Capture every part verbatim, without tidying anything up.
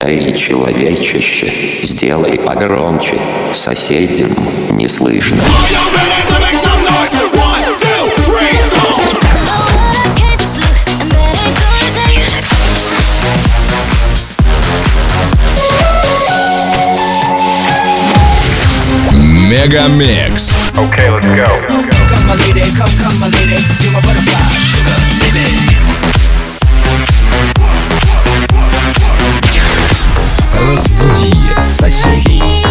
Эй, человечище, сделай погромче, соседям не слышно. Мегамикс. Okay, let's go. Come my lady, come, come my lady, you're my butterfly, sugar, baby. Разбуди соседей.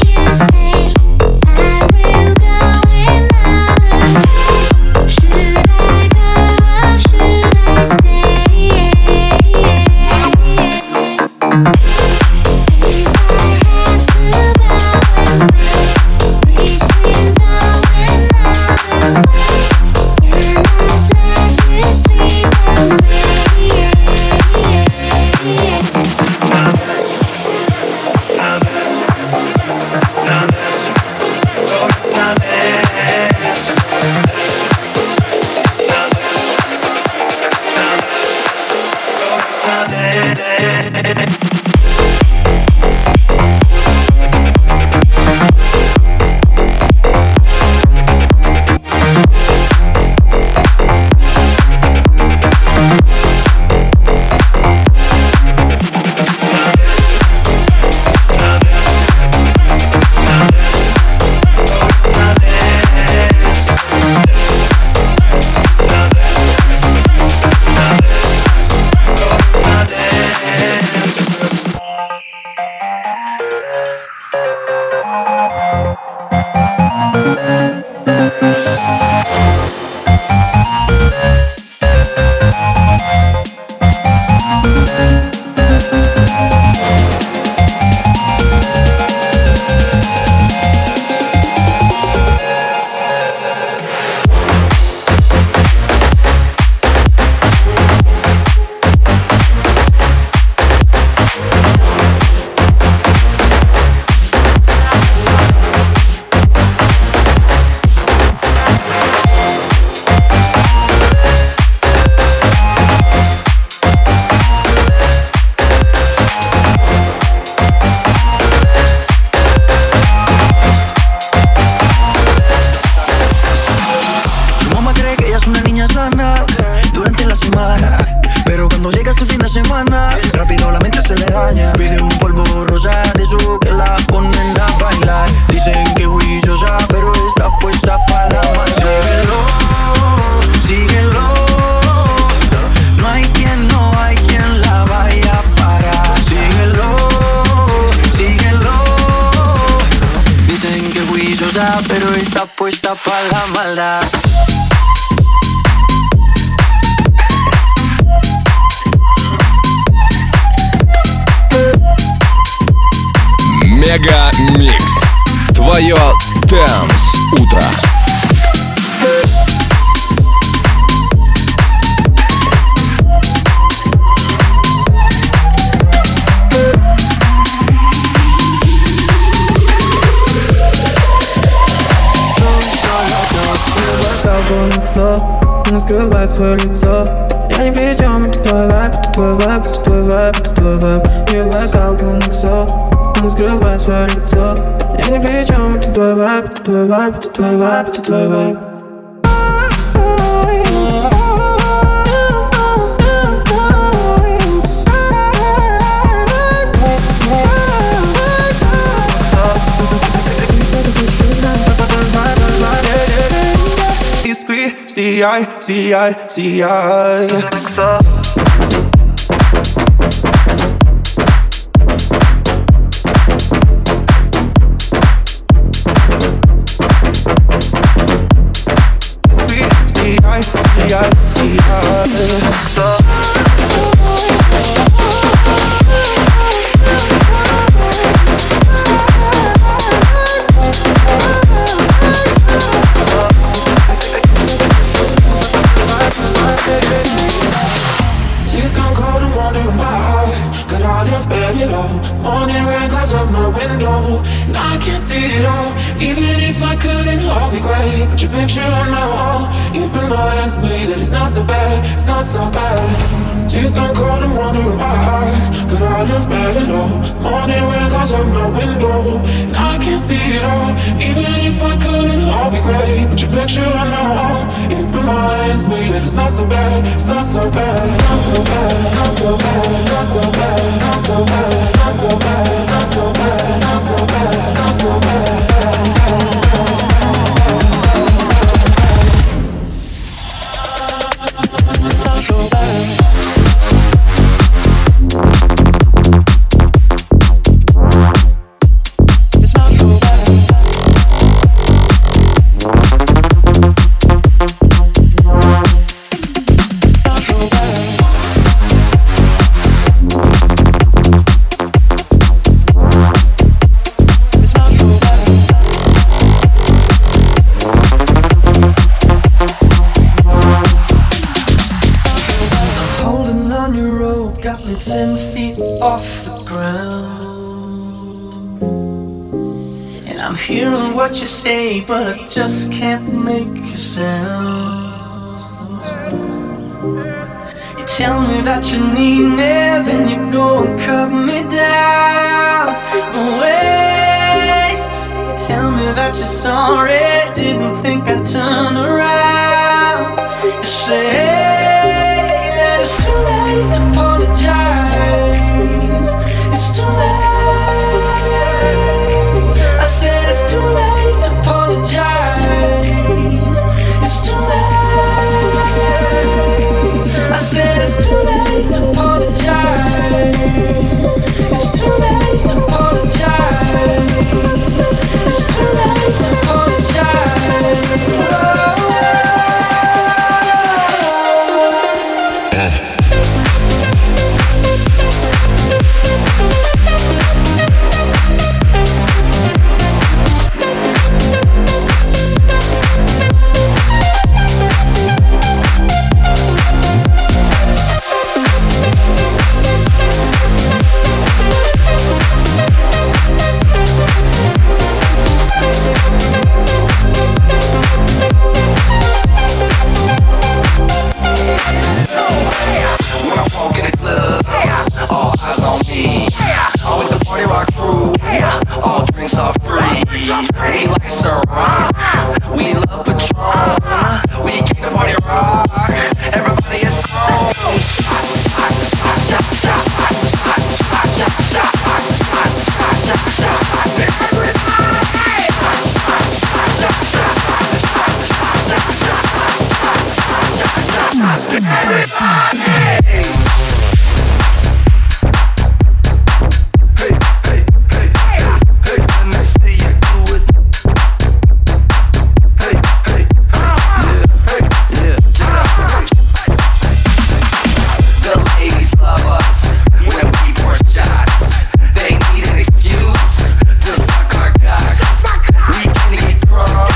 Pero está puesta para la maldad. Мегамикс. Твое Dance утро. Не скрывает свое лицо. Я ни при чем, это твой вайб, это твой вайб, это твой вайб, это твой вайб. Не вокал, полностью, не скрывает свое лицо. Я ни при чем, это твой вайб, это твой вайб, это твой вайб, это твой вайб. Искри, сияй, сияй, сияй. Искри, сияй, сияй, сияй. Tears gone cold and wandering my heart. Got all in bed it all. Morning rain clouds up my window, and I can't see it all. Even if I couldn't, all be great. Put your picture on my wall. You remind me that it's not so bad, it's not so bad. Tears gone cold and wondering why. Could I live bad at all? Morning rain clouds out my window, and I can't see it all. Even if I could, it'd all be great. But your picture on my wall, it reminds me that it's not so bad. It's not so bad, not so bad, not so bad, not so bad, not so bad, not so bad, not so bad, not so bad, not so bad. Not so bad. Ten feet off the ground, and I'm hearing what you say, but I just can't make a sound. You tell me that you need me, then you go and cut me down. But wait, you tell me that you're sorry, didn't think I'd turn around. You say that it's too late to apologize. It's too late. I said it's too late to apologize. It's too late. I said it's too late to apologize. It's too late to apologize. It's too late to apologize.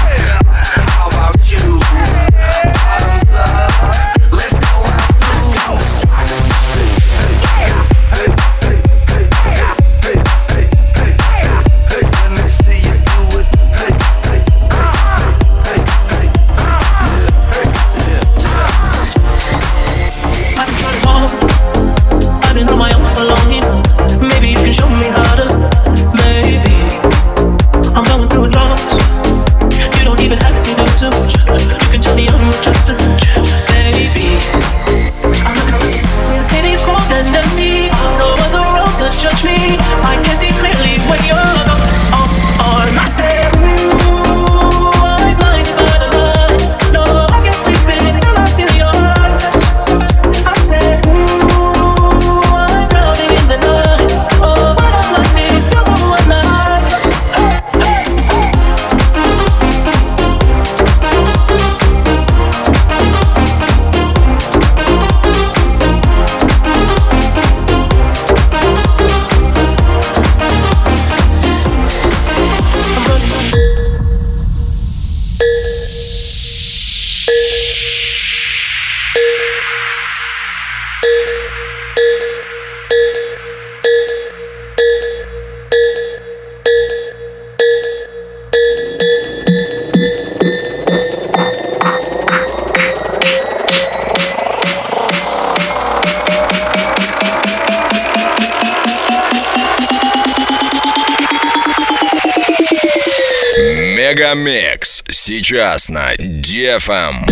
Let's go out. Мегамикс сейчас на ди эф эм.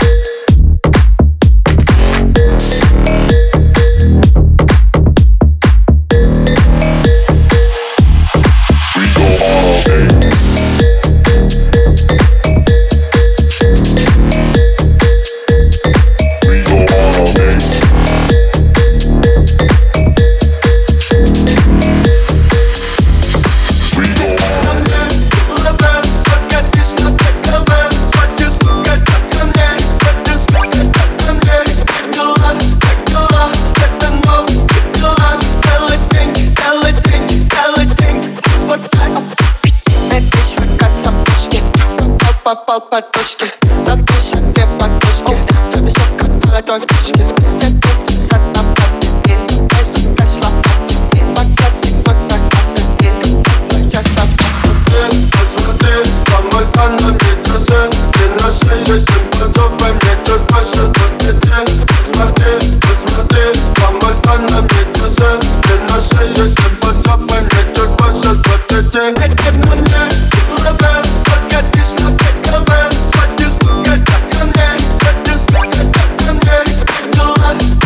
Попал подушки, на площади подушки. Зависок от молодой пушки. Где-то висят на памяти. Войсу дошла памяти. Покатый год на памяти. Я сам посмотри, посмотри, помогай нам не часы. Ты на шее, всем подобай мне чуть больше двадцати. Посмотри, посмотри, помогай нам не часы. Ты на шее, всем подобай мне чуть больше двадцати. Эти мне ловят, согатишь на Swat this, get that on there. Swat this, get that on there. Do I?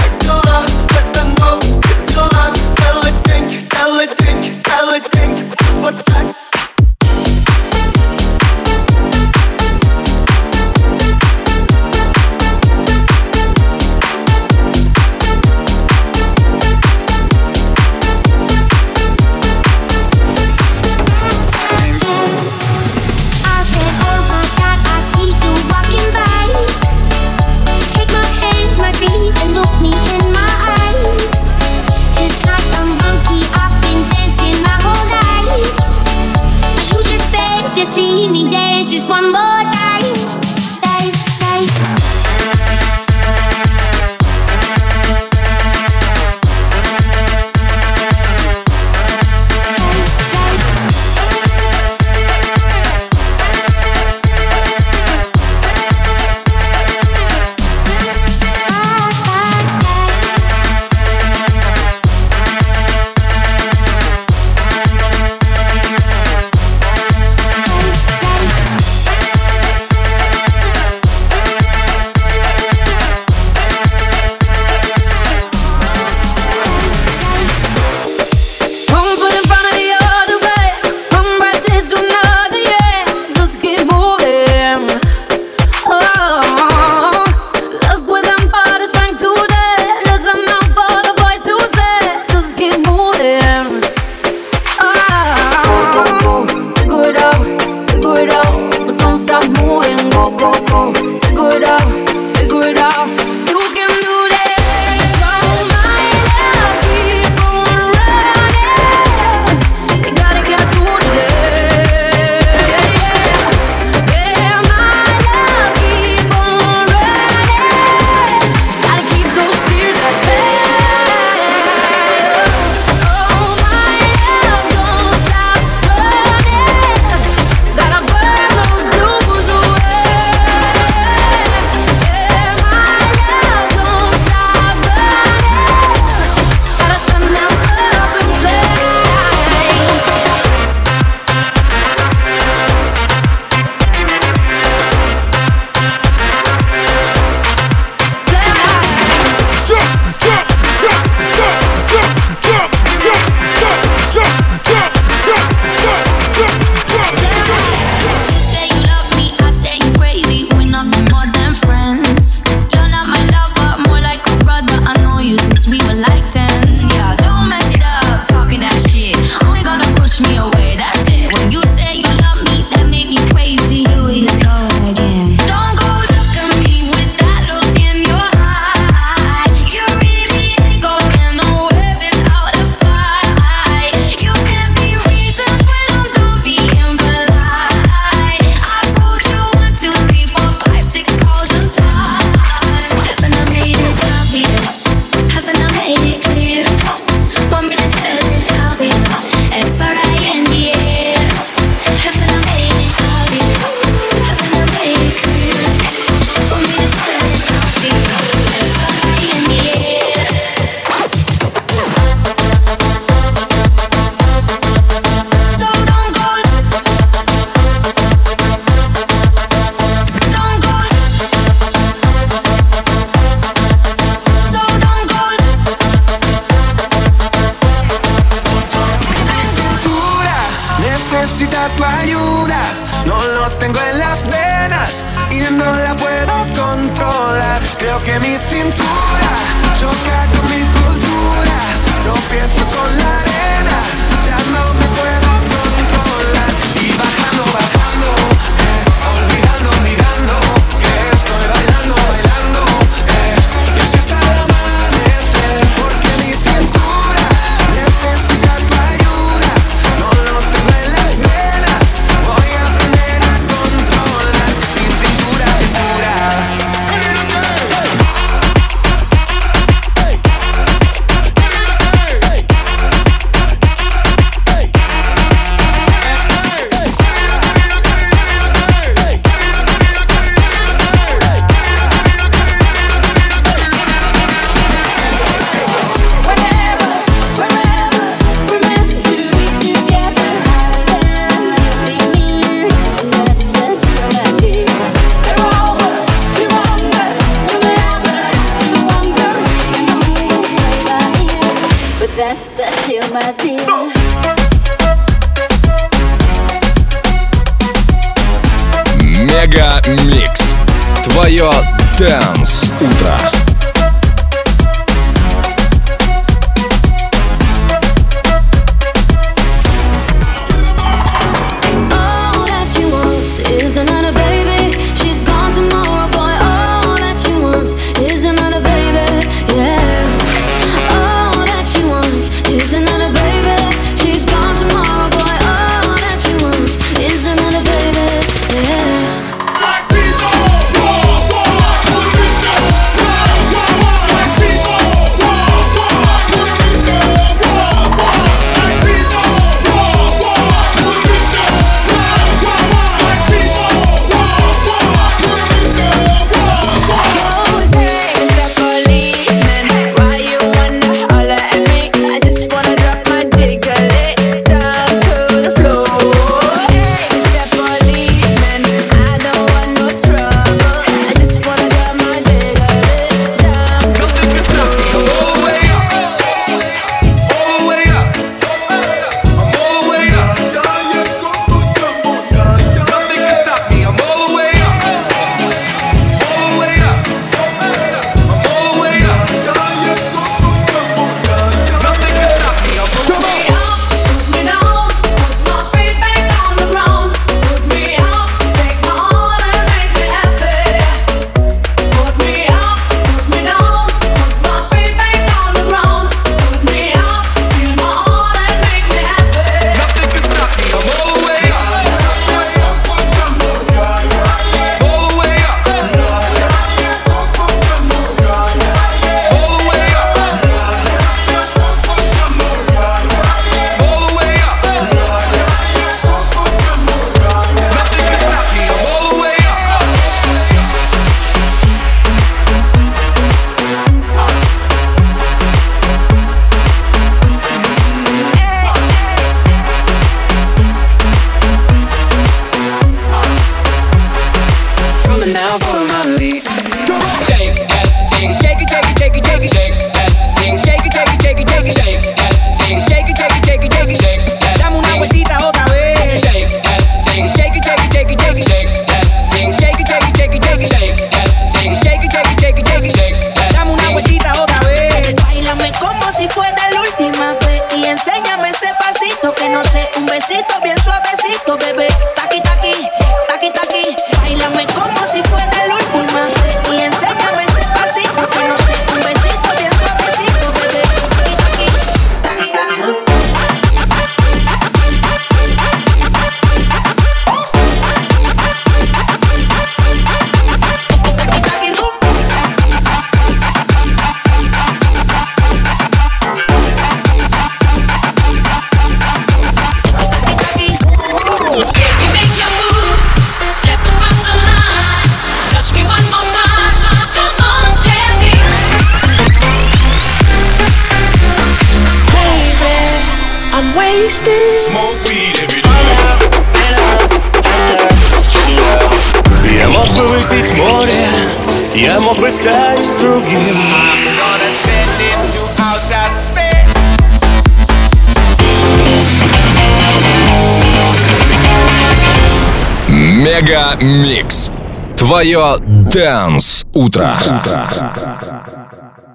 necesita tu ayuda. No lo tengo en las venas y no la puedo controlar. Creo que mi cintura choca con mi cultura. Tropiezo con la arena, ya no me puedo controlar. Y bajando, bajando, eh, olvidando, olvidando que estoy bailando, bailando, eh, y así hasta el amanecer. Porque mi cintura necesita tu ayuda. No lo tengo en las venas, voy a aprender a controlar mi cintura, cintura. That's the deal, my dear. Мега Микс. Твое Dance утро. Я мог бы выпить море, я мог бы стать другим. Мега Микс. Твое Dance утро.